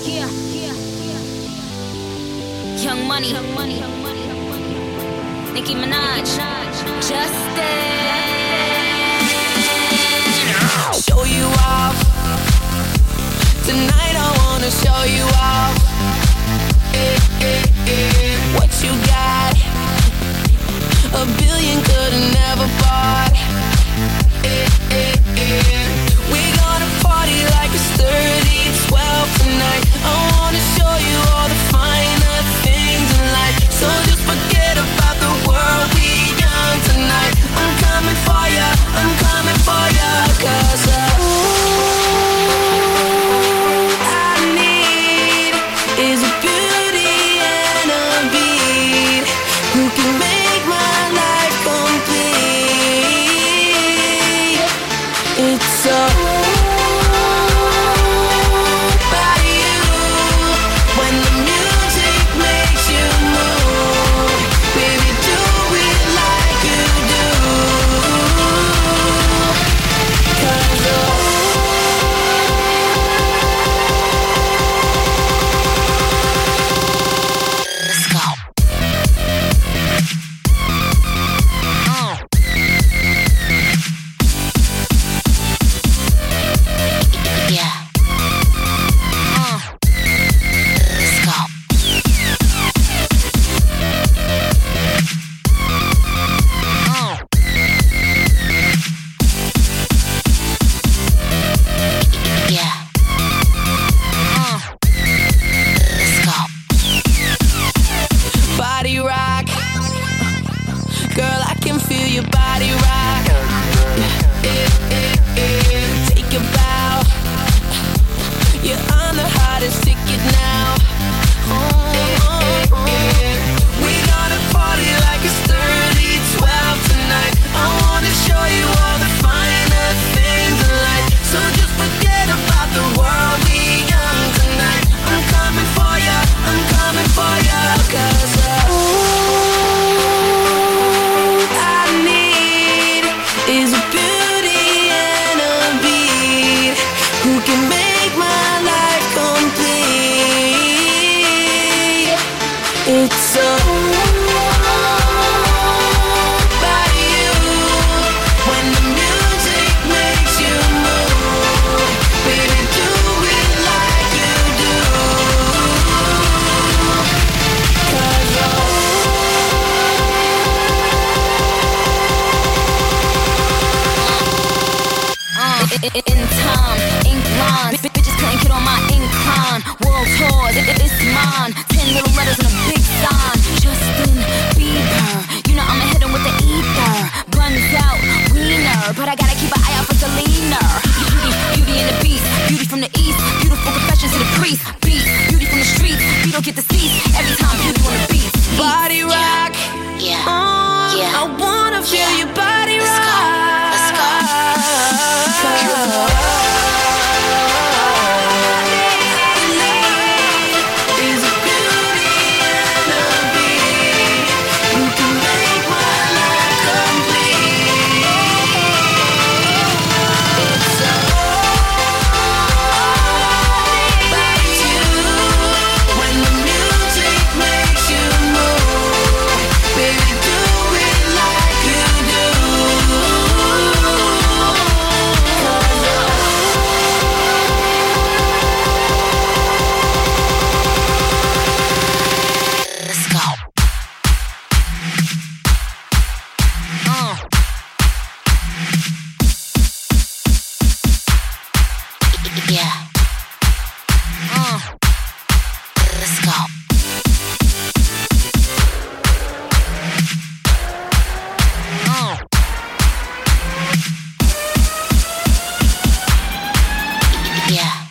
Young Money, Nicki Minaj, Justin. Show you off. Tonight I wanna show you off. What you got? A billion could've never bought. We gonna party like it's 30-12 tonight. I wanna show you all the finer things in life. So just forget about the world, we young tonight. I'm coming for ya, I'm coming for ya. 'Cause I need is a beauty and a beat who can make my life complete. It's so by you when the music makes you move. Baby, do it like you do. 'Cause Let's go. Yeah. Let's go. Yeah. Let's go. body rock, girl, I can feel your body rock. Take a bow, you're on the hottest ticket now. We gonna party like it's 30-12 tonight. I wanna show you all the finer things in life. So just forget about the world, we young tonight. I'm coming for ya, I'm coming for ya. 'Cause I need is a beauty and a beat who can make my life complete. It's so by you when the music makes you move. Baby, do it like you do. 'Cause in time, ink lines, bitches couldn't get on my incline. World tours, it's mine. 10 little letters and a big sign. Justin Bieber, you know I'ma hit him with the ether. Buns out, wiener, but I gotta keep an eye out for Selena. Beauty and the beast, beauty from the east, beautiful confessions to the priest. Beast, beauty from the streets, you don't get the seats every time beauty on the beat. body rock, Yeah, yeah. I wanna feel your body rock. Let's go. Is a beauty and a beat who can make my life complete. It's so by you when the music makes you move. Baby, do it like you do. 'Cause Let's go. Yeah. Let's go. Yeah.